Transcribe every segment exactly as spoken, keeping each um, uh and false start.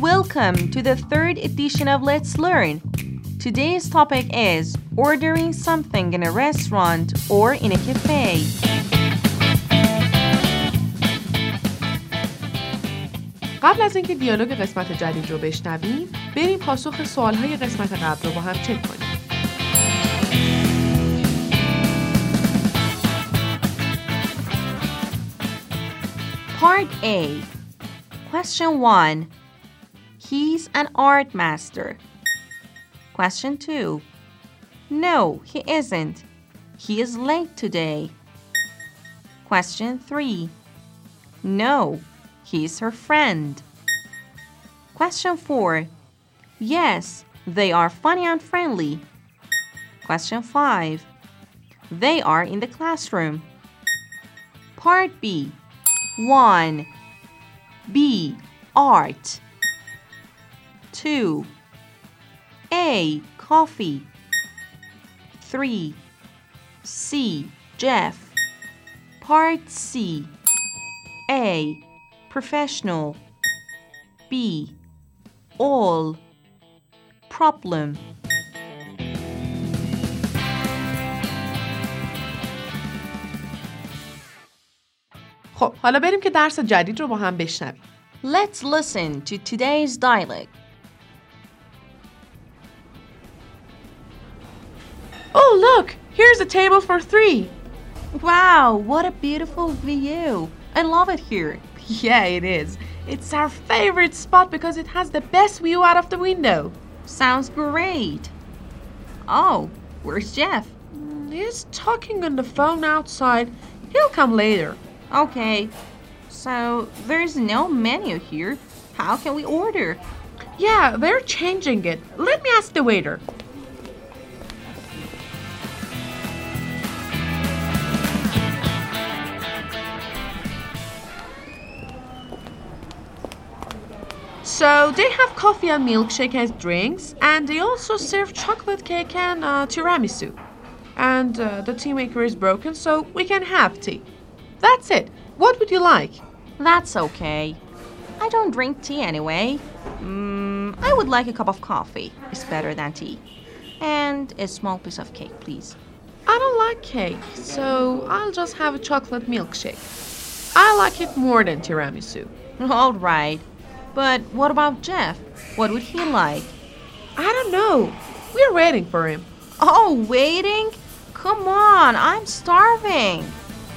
Welcome to the third edition of Let's Learn. Today's topic is ordering something in a restaurant or in a cafe. قبل از اینکه دیالوگ قسمت جدید رو بشنویم، بریم پاسخ سوال‌های قسمت قبل رو با هم چک کنیم. Part A. Question one. He's an art master. Question two. No, he isn't. He is late today. Question three. No, he's her friend. Question four. Yes, they are funny and friendly. Question five. They are in the classroom. Part B. one. B. Art. two. A. Coffee. three. C. Jeff. Part C. A. Professional. B. All. Problem. خب حالا بریم که درس جدید رو با هم بشنویم. Let's listen to today's dialogue. Oh, look! Here's a table for three. Wow, what a beautiful view. I love it here. Yeah, it is. It's our favorite spot because it has the best view out of the window. Sounds great. Oh, where's Jeff? He's talking on the phone outside. He'll come later. Okay, so there's no menu here. How can we order? Yeah, they're changing it. Let me ask the waiter. So they have coffee and milkshake as drinks, and they also serve chocolate cake and uh, tiramisu. And uh, the tea maker is broken, so we can have tea. That's it. What would you like? That's okay. I don't drink tea anyway. Mm, I would like a cup of coffee. It's better than tea. And a small piece of cake, please. I don't like cake, so I'll just have a chocolate milkshake. I like it more than tiramisu. All right. But what about Jeff? What would he like? I don't know. We're waiting for him. Oh, waiting? Come on, I'm starving.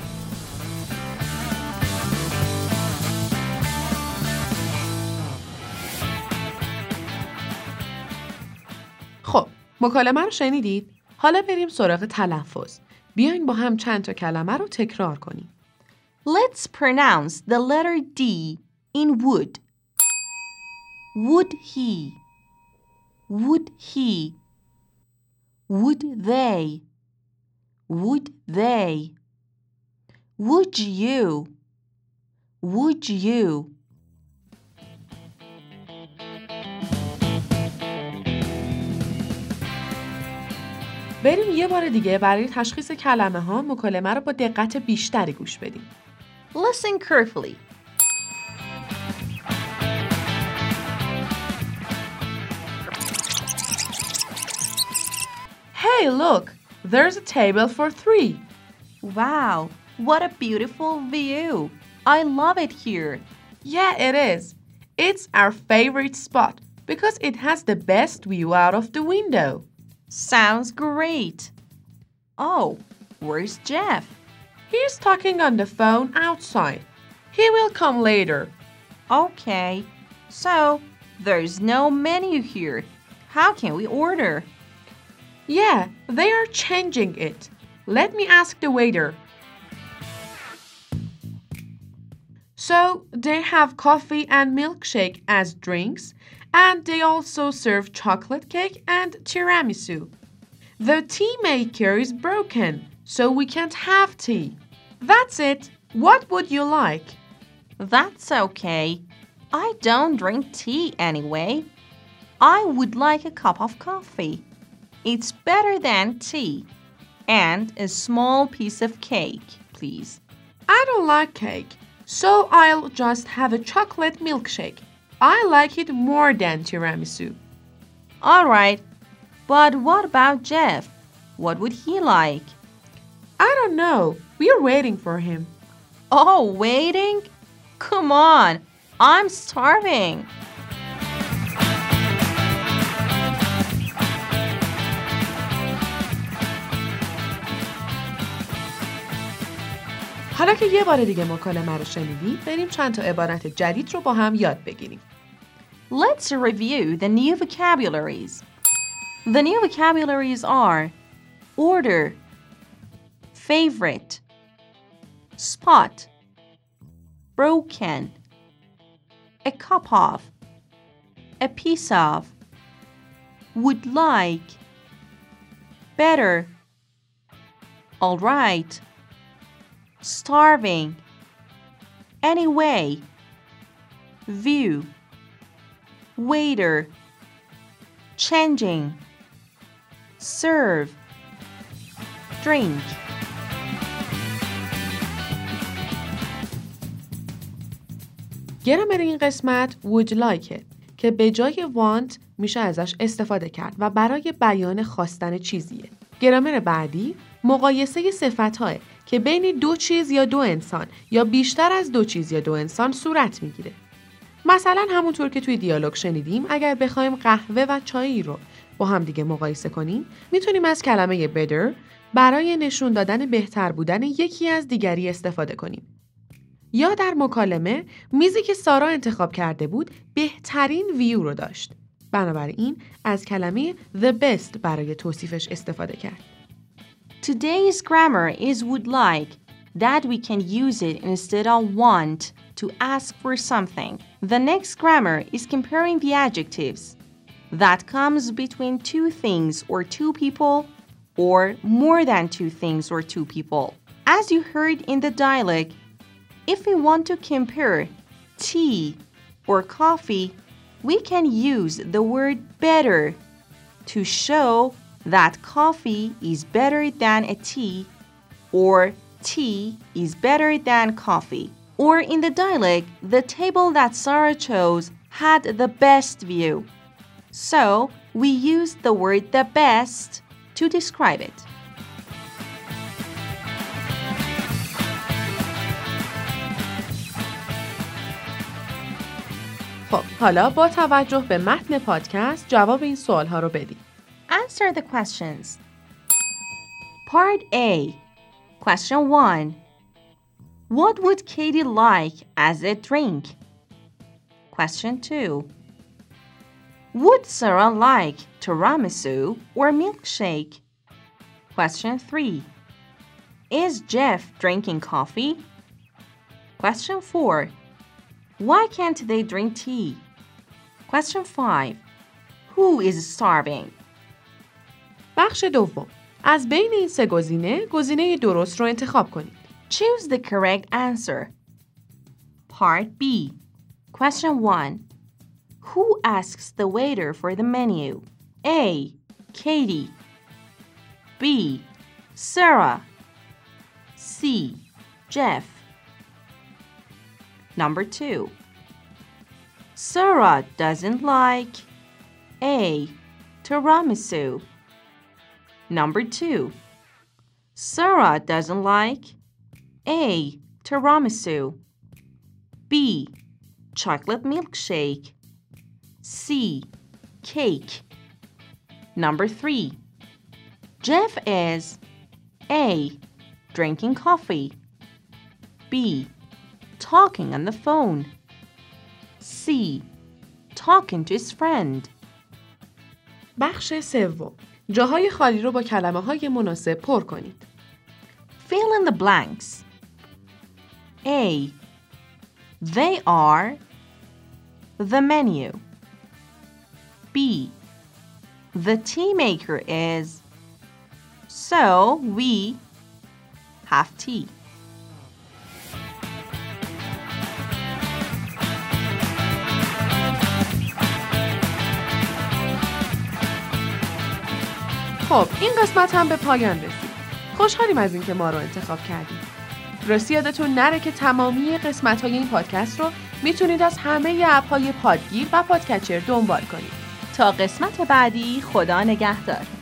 خب، مکالمه رو شنیدید؟ حالا بریم سراغ تلفظ. بیاین با هم چند تا کلمه رو تکرار کنیم. Let's pronounce the letter D in would. Would he? Would he? Would they? Would they? Would you? Would you? بریم یه بار دیگه برای تشخیص کلمه ها مکالمه رو با دقت بیشتری گوش بدیم. Listen carefully. Hey, look! There's a table for three. Wow, what a beautiful view. I love it here. Yeah, it is. It's our favorite spot because it has the best view out of the window. Sounds great. Oh, where's Jeff? He's talking on the phone outside. He will come later. Okay, so there's no menu here. How can we order? Yeah, they are changing it. Let me ask the waiter. So they have coffee and milkshake as drinks, and they also serve chocolate cake and tiramisu. The tea maker is broken, so we can't have tea. That's it. What would you like? That's okay. I don't drink tea anyway. I would like a cup of coffee. It's better than tea. And a small piece of cake, please. I don't like cake, so I'll just have a chocolate milkshake. I like it more than tiramisu. All right, but what about Jeff? What would he like? I don't know. We're waiting for him. Oh, waiting? Come on, I'm starving. حالا که یه بار دیگه مکالمه رو شنیدید، بریم چند تا عبارت جدید رو با هم یاد بگیریم. Let's review the new vocabularies. The new vocabularies are order, favorite, spot, broken, a cup of, a piece of, would like, better, all right, starving, anyway, view, waiter, changing, serve, drink. گرامر این قسمت would like it که به جای want میشه ازش استفاده کرد و برای بیان خواستن چیزیه. گرامر بعدی مقایسه صفت‌ها که بین دو چیز یا دو انسان یا بیشتر از دو چیز یا دو انسان صورت میگیره. مثلا همونطور که توی دیالوگ شنیدیم، اگر بخوایم قهوه و چای رو با هم دیگه مقایسه کنیم، میتونیم از کلمه better برای نشون دادن بهتر بودن یکی از دیگری استفاده کنیم. یا در مکالمه میزی که سارا انتخاب کرده بود بهترین ویو رو داشت. بنابراین از کلمه the best برای توصیفش استفاده کرد. Today's grammar is would like, that we can use it instead of want to ask for something. The next grammar is comparing the adjectives. That comes between two things or two people or more than two things or two people. As you heard in the dialogue, if we want to compare tea or coffee, we can use the word better to show that coffee is better than a tea or tea is better than coffee. Or in the dialogue, the table that Sarah chose had the best view. So we used the word the best to describe it. خب حالا با توجه به متن پادکست جواب این سوال‌ها رو بدید. Answer the questions. Part A. Question one. What would Katie like as a drink? Question two. Would Sarah like tiramisu or milkshake? Question three. Is Jeff drinking coffee? Question four. Why can't they drink tea? Question five. Who is starving? بخش دوم. از بین این سه گزینه، گزینه درست رو انتخاب کنید. Choose the correct answer. Part B. Question one. Who asks the waiter for the menu? A. Katie. B. Sarah. C. Jeff. Number two. Sarah doesn't like A. Tiramisu. Number two. Sarah doesn't like A. Tiramisu. B. Chocolate milkshake. C. Cake. Number three. Jeff is A. Drinking coffee. B. Talking on the phone. C. Talking to his friend. بخش سوم. جاهای خالی رو با کلمه‌های مناسب پر کنید. Fill in the blanks. A. They are the menu. B. The tea maker is, so we have tea. خب این قسمت هم به پایان رسید. خوشحالیم از اینکه ما رو انتخاب کردید. راستی یادتون نره که تمامی قسمت‌های این پادکست رو میتونید از همه اپ‌های پادگیر و پادکچر دنبال کنید. تا قسمت بعدی، خدا نگهدار.